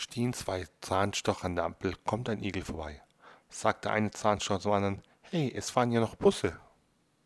Stehen zwei Zahnstocher an der Ampel, kommt ein Igel vorbei. Sagt der eine Zahnstocher zum anderen: Hey, es fahren ja noch Busse.